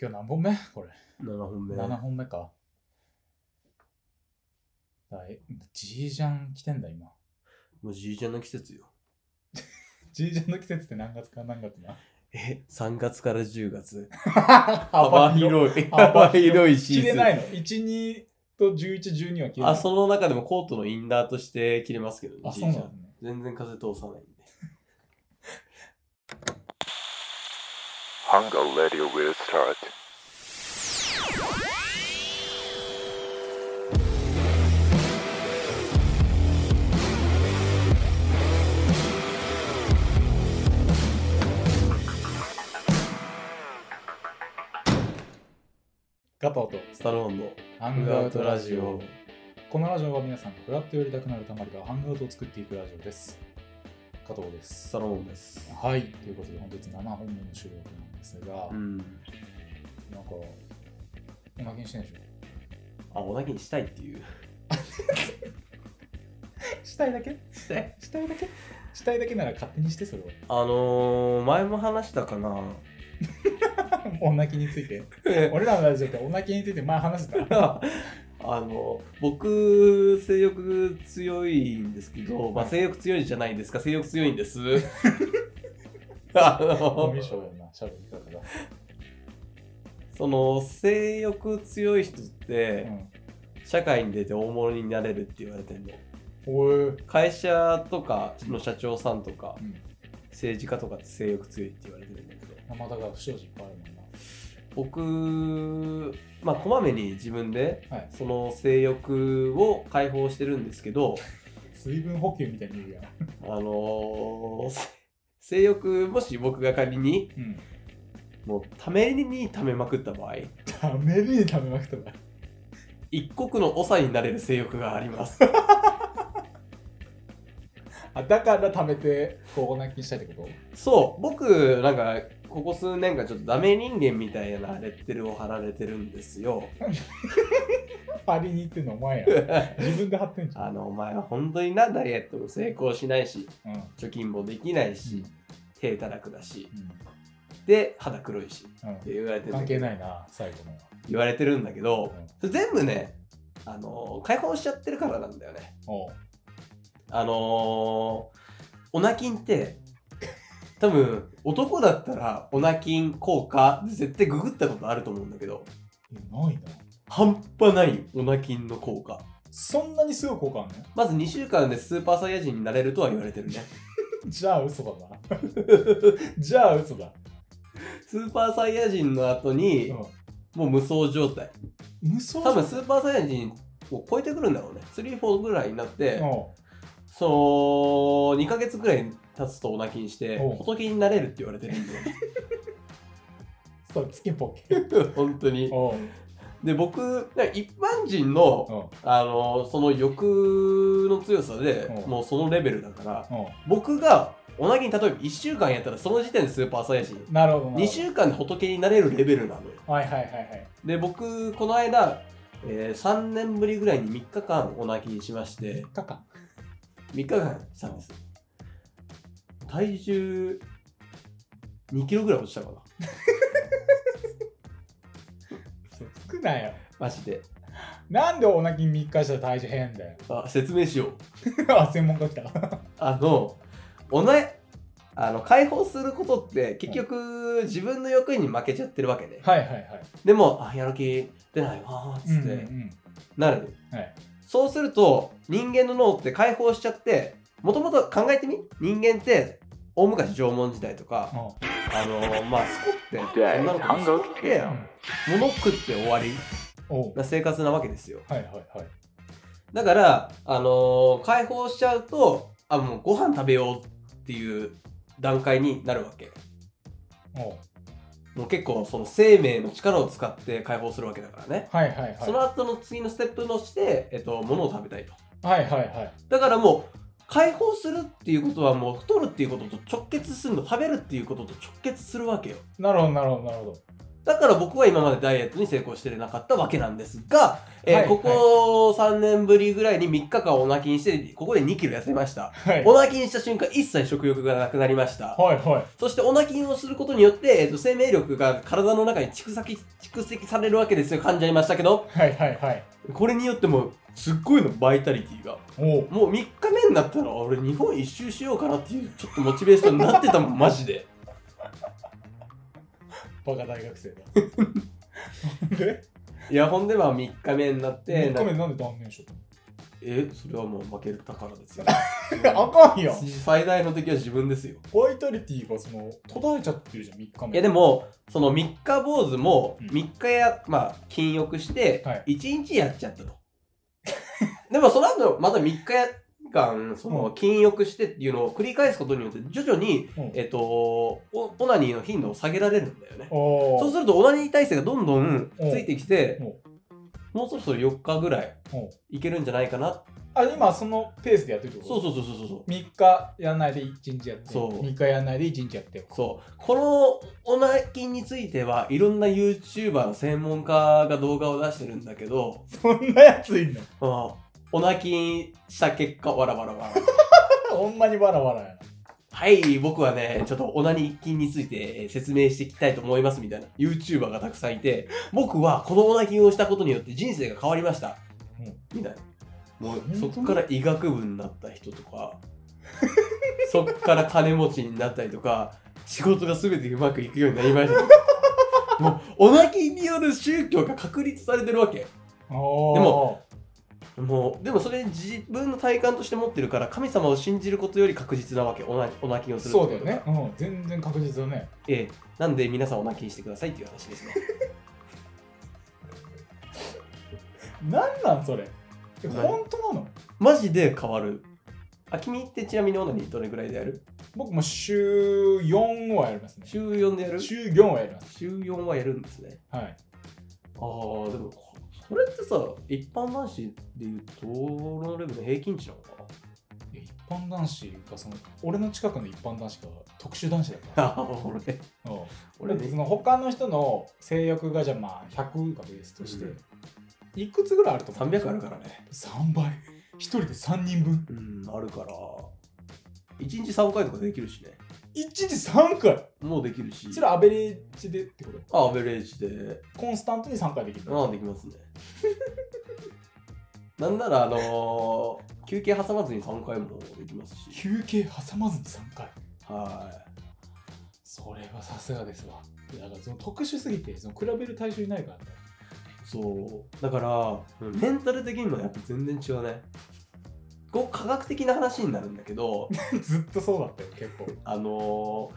今日何本目これ。 7本目。 7本目か。じいじゃん来てんだ今。 もうじいちゃんの季節よ。 じいちゃんの季節って何月か何月な。 3月から10月。 幅広い。 幅広いシーズン。 着れないの ?1、2と11、12は着れない。 その中でもコートのインナーとして着れますけどね。 そうなんだね。 全然風通さないんで。 Hunger Radio will start. 加藤とスタローンのハングアウトラジオ。このラジオは皆さんがフラット寄りたくなるたまりがハングアウトを作っていくラジオです。加藤です。 スタローンです。 はい。ということで本日7本目の収録なんですが、なんかおまけにしてんでしょ。 おなけにしたいっていう。 したいだけしたいだけなら勝手にしてそれは。前も話したかな。 おなきについて。俺らのラジオっておなきについて前話した。 僕性欲強いんですけど、性欲強いじゃないですか。性欲強いんです。 コミュ障やな、しゃべり方が。 その性欲強い人って、社会に出て大物になれるって言われてんの。会社とかの社長さんとか、政治家とかって性欲強いって言われてるんだけど、 だから不祥事いっぱいあるもんな。 僕こまめに自分で、その性欲を解放してるんですけど、 水分補給みたいに言うやん。 性欲もし僕が仮に、もうためにためまくった場合、一国の長になれる性欲があります。 だから貯めてこうおなきにしたいってこと？ そう、僕なんかここ数年間ちょっとダメ人間みたいなレッテルを貼られてるんですよ。 貼りに行ってんのお前や。自分で貼ってんじゃん。 お前は本当にダイエットも成功しないし、貯金もできないし、手たらくだし、で肌黒いし、って言われてる。 関係ないな、最後の言われてるんだけど、全部ね、解放しちゃってるからなんだよね。オナキンって多分男だったらオナキン効果絶対ググったことあると思うんだけど、 ないな。 半端ないオナキンの効果。 そんなにすごい効果あるの？ まず2週間でスーパーサイヤ人になれるとは言われてるね。 じゃあ嘘だな。じゃあ嘘だ。 スーパーサイヤ人の後に、もう無双状態。多分スーパーサイヤ人を超えてくるんだろうね。3、4ぐらいになって、その2ヶ月ぐらい経つとオナキンして仏になれるって言われてるんで。 そう、つけポケ。 本当に。で、僕一般人のその欲の強さでもうそのレベルだから、僕がオナキン例えば1週間やったらその時点でスーパーサイヤ人。 なるほど。 2週間で仏になれるレベルなのよ。 はい。 で、僕この間、3年ぶりぐらいに3日間オナキンしまして、3日間したんです。体重2キロぐらい落ちたかな。 少ないよ。 マジで。 なんでオナキン3日したら体重変だよ。 説明しよう。 専門家来た。 解放することって結局自分の欲に負けちゃってるわけね。でも、やる気出ないわーっつってなる。そうすると人間の脳って解放しちゃって、もともと考えてみ、人間って大昔縄文時代とか、スコって女の子にスコって物食って終わりな生活なわけですよ。だから解放しちゃうともうご飯食べようっていう段階になるわけ。もう結構その生命の力を使って解放するわけだからね。その後の次のステップとして、物を食べたいと。だからもう解放するっていうことはもう太るっていうことと直結するの。食べるっていうことと直結するわけよ。 なるほど。 だから僕は今までダイエットに成功してなかったわけなんですが、ここ3年ぶりぐらいに3日間オナキンして、ここで2キロ痩せました。はい、オナキンした瞬間、一切食欲がなくなりました。はいはい、そしてオナキンをすることによって、生命力が体の中に蓄積されるわけですよ。噛んじゃいましたけど。はいはいはい。これによっても、すっごいの、バイタリティが。もう3日目になったら、俺日本一周しようかなっていう、ちょっとモチベーションになってたもん、マジで。 バカ大学生だ。 でいや、ほんで3日目になって。 3日目なんで断念しよう。それはもう負けたからですよ。 あかんよ。 最大の敵は自分ですよ。 バイタリティが途絶えちゃってるじゃん、3日目。 いやでも、その3日坊主も3日禁欲して、1日やっちゃったと。でもその後、また3日間、禁欲してっていうのを繰り返すことによって、徐々に、オナニーの頻度を下げられるんだよね。そうすると、オナニー体制がどんどんついてきて、もうそろそろ4日ぐらいいけるんじゃないかな。 今そのペースでやってるってこと？そう。3日やんないで1日やって、3日やんないで1日やって。 そう。このオナキンについては、いろんな YouTuber の専門家が動画を出してるんだけど、 そんなやついんの？ オナキンした結果、わらわら。 ほんまにわらわらやな。 はい、僕はね、ちょっとオナニキンについて説明していきたいと思いますみたいな YouTuber がたくさんいて、僕はこのオナキンをしたことによって人生が変わりました。みたいな。もうそこから医学部になった人とか、そっから金持ちになったりとか、仕事が全てうまくいくようになりました。もうオナキンによる宗教が確立されてるわけ。でもそれ自分の体感として持ってるから神様を信じることより確実なわけ。オナキンをするそうだよね、全然確実だね。 なんで皆さんオナキンしてくださいっていう話ですね。 なんそれ本当なの？ マジで変わる。君ってちなみにオナニーどれぐらいでやる？ 僕も週4はやりますね。 週4でやる？ 週4はやります。 週4はやるんですね。 はい。 でもそれってさ、一般男子でいうとこのレベルの平均値なのかな？ 一般男子が俺の近くの一般男子が特殊男子だから。俺その他の人の性欲がじゃあ100がベースとして、いくつぐらいあると思う ？300あるからね。 3倍。1人で3人分。 あるから。1日3回とかできるしね。 1日3回もうできるし。 それアベレージでってこと？ アベレージで。 コンスタントに3回できる。 できますね。なんなら休憩挟まずに3回もできますし。 休憩挟まずに3回？ はい。 それはさすがですわ。だから特殊すぎて比べる対象いないからね。 そう。だからメンタル的にもやっぱ全然違うね。科学的な話になるんだけどずっとそうだったよ結構。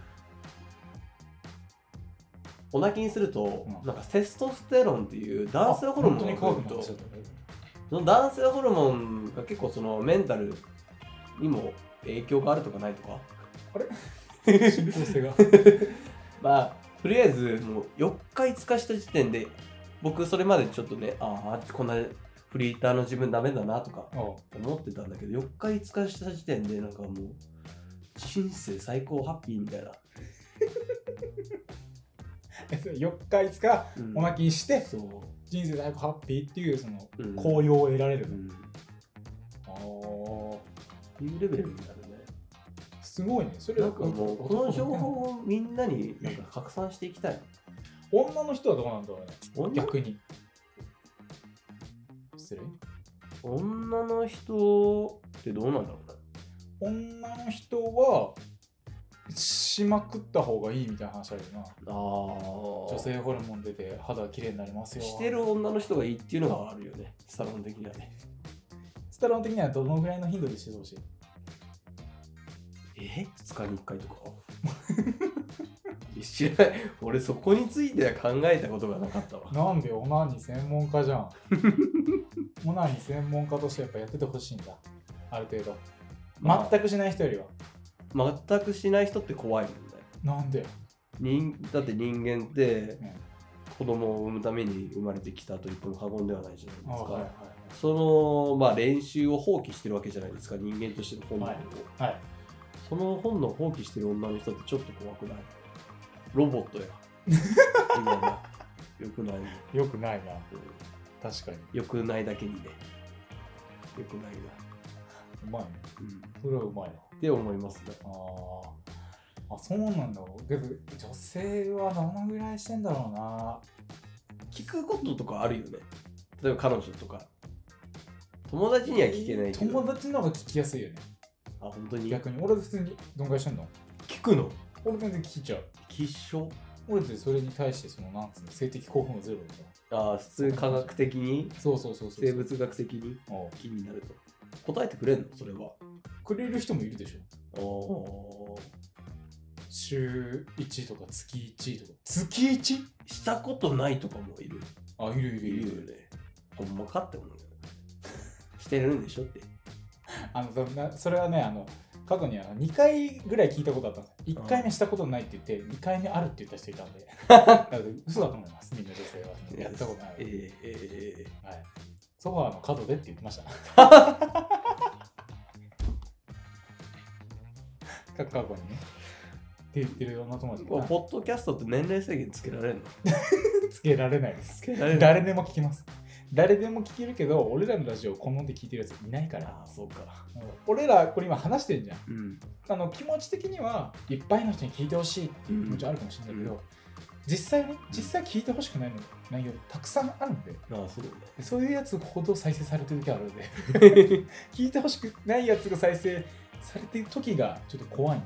オナキンすると、なんかテストステロンっていう男性ホルモンが増えると、その男性ホルモンが結構メンタルにも影響があるとかないとか。 あれ？進行性がとりあえずもう4日5日した時点で僕それまでちょっとね、こんなフリーターの自分ダメだなとか思ってたんだけど、4日5日した時点でなんかもう人生最高ハッピーみたいな。 4日5日オナキンして、人生最高ハッピーっていう高揚を得られる。 いうレベルになるね。 すごいね。それなんかもうこの情報をみんなになんか拡散していきたい。 女の人はどうなんだろうね。逆に。失礼。 女の人ってどうなんだろうね。女の人はしまくった方がいいみたいな話あるよな。女性ホルモン出て肌綺麗になりますよ。 してる女の人がいいっていうのがあるよね。スタロン的にはね。 スタロン的にはどのぐらいの頻度でしてほしい ？2日に1回とか知らない。俺そこについては考えたことがなかったわ。 なんでオナニー専門家じゃん。オナニー専門家としてやっぱやっててほしいんだ。ある程度。全くしない人よりは。 全くしない人って怖いもんだよ。 なんで？ だって人間って子供を産むために生まれてきたと言っても過言ではないじゃないですか。その練習を放棄してるわけじゃないですか、人間としての本能を。その本能を放棄してる女の人ってちょっと怖くない？ロボットや。 よくないね。 よくないな、確かに。 よくないだけにね。よくないな。 うまいね。それはうまいな。 って思いますね。 あ、そうなんだ。けど女性はどのぐらいしてんだろうな。 聞くこととかあるよね。例えば彼女とか。友達には聞けないけど。 友達の方が聞きやすいよね。 あ、本当に。 逆に俺普通にどんぐらいしてんの？ 聞くの？ 俺全然聞いちゃう。 きっしょ？ 俺ってそれに対してなんつうの、性的興奮はゼロだから。ああ、普通科学的に？ そう。 生物学的に気になると。答えてくれんの？それは。くれる人もいるでしょ。 週1とか月1とか。月 1？ したことないとかもいる。 あ、いるよね。ほんまかって思うよ。してるんでしょって。 それはね、過去に2回ぐらい聞いたことあったんです。1回目したことないって言って2回目あるって言った人いたんで嘘だと思います、みんな女性は。やったことない。はい、ソファーの角でって言ってました過去にねって言ってる女友達が。 ポッドキャストって年齢制限つけられるの？ つけられないです。誰でも聞きます。誰でも聞けるけど、俺らのラジオを好んで聞いてるやついないから。 あ、そうか。 俺らこれ今話してんじゃん。気持ち的にはいっぱいの人に聞いてほしいっていう気持ちあるかもしれないけど、実際聞いてほしくないの内容たくさんあるんで、そういうやつほど再生されてる時あるので聞いてほしくないやつが再生されてる時がちょっと怖いん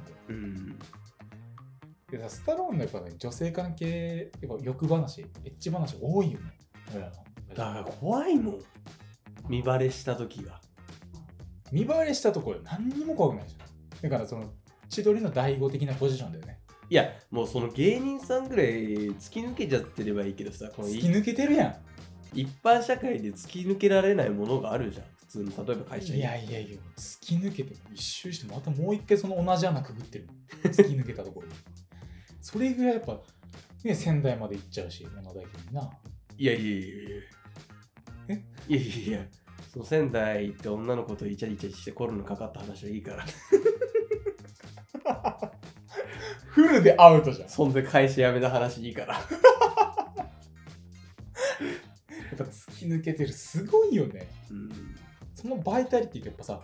で。でさ、スタローンのやっぱね、女性関係、やっぱ欲話、エッチ話多いよね。 だから怖いもん。見バレした時が。 見バレしたところ何にも怖くないじゃん。だから千鳥の第5的なポジションだよね。 いや、もうその芸人さんぐらい突き抜けちゃってればいいけどさ、 突き抜けてるやん。 一般社会で突き抜けられないものがあるじゃん。普通の例えば会社に。 いや、突き抜けて一周してまたもう一回その同じ穴くぐってる。突き抜けたところ。それぐらいやっぱ、ね、仙台まで行っちゃうし、物大君にな。 いや。その仙台行って女の子とイチャイチャしてコロナかかった話はいいからフルでアウトじゃん。 そんで会社辞めた話いいからやっぱ突き抜けてる、すごいよね。そのバイタリティってやっぱさ、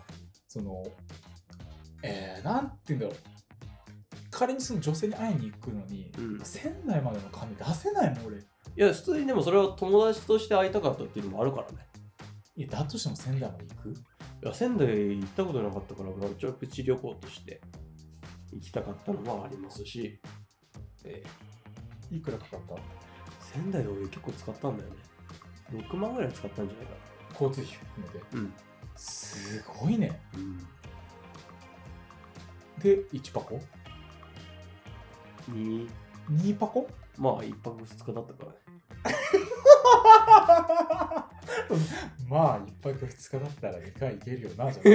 なんて言うんだろう、仮にその女性に会いに行くのに、仙台までの金出せないもん俺。 いや、普通にでもそれは友達として会いたかったっていうのもあるからね。 いや、だとしても仙台まで行く？ いや、仙台行ったことなかったから、ちょっとプチ旅行として行きたかったのはありますし。 いくらかかった？ 仙台で俺結構使ったんだよね。6万ぐらい使ったんじゃないかな。 交通費含めて。すごいね。で、1箱？2箱？まあ、 1泊2日だったからね。 まあ、1泊2日だったら2回行けるよな、じゃ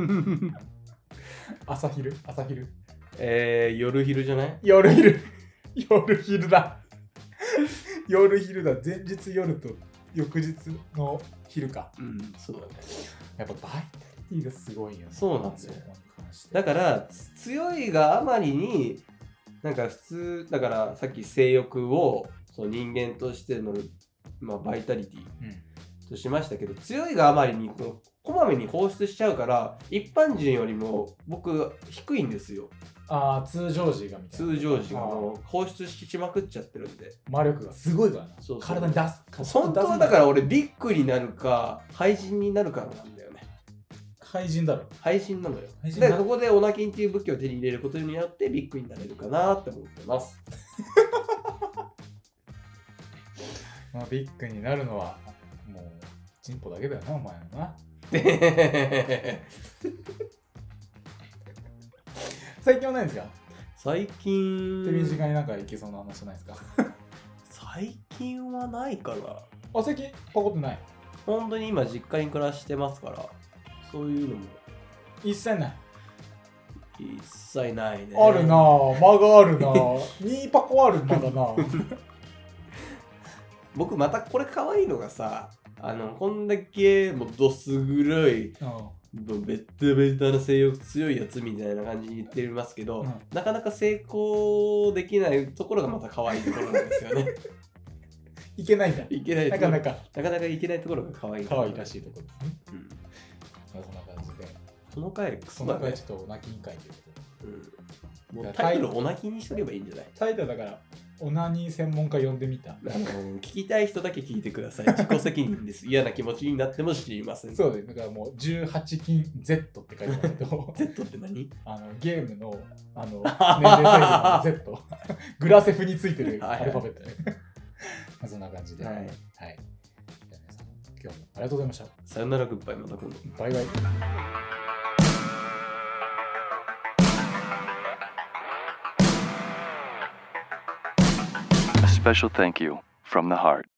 あ。朝昼？ 夜昼じゃない？ 夜昼だ。夜昼だ。前日夜と翌日の昼か。 そうだね。 やっぱバイタリティがすごいよね。 そうなんですよ。だから強いがあまりになんか普通だから、さっき性欲をそう人間としての、バイタリティとしましたけど、強いがあまりにこまめに放出しちゃうから一般人よりも僕低いんですよ。 通常時がみたいな。 通常時が放出しまくっちゃってるんで、 魔力がすごいからな。体に出す。 本当はだから俺ビッグになるか廃人になるかなんだよね。 廃人だろ。 廃人なのよ。で、ここでオナキンっていう武器を手に入れることによってビッグになれるかなって思ってます。 ビッグになるのはもうチンポだけだよな、お前のな。最近はないですか？ 最近手短になんかいけそうな話ないですか？ 最近はないかな。 最近パコってない？ 本当に今実家に暮らしてますから、そういうのも一切ない。 一切ないね。 あるなぁ、間があるなぁ。2パコあるんだな僕またこれ可愛いのがさ、こんだけもうどす黒い、ベッタベタな性欲強いやつみたいな感じに言ってますけど、なかなか成功できないところがまた可愛いところなんですよね。 いけないんだ。 いけない。 なかなかいけないところが可愛いらしいところですね。そんな感じで。 その回クソだね。その回ちょっとお泣きに会ということで。もうタイトルお泣きにしとけばいいんじゃない？ タイトルだからオナニー専門家呼んでみた。 聞きたい人だけ聞いてください。自己責任です。嫌な気持ちになっても知りません。 そうです。だからもう18禁 Z って書いてますけど。 Z って何？ ゲームの年齢制限の Z。グラセフについてるアルファベットね。そんな感じで。はい。じゃあ皆さん今日もありがとうございました。 さよならグッバイ、また今度。 バイバイ。 A special thank you from the heart.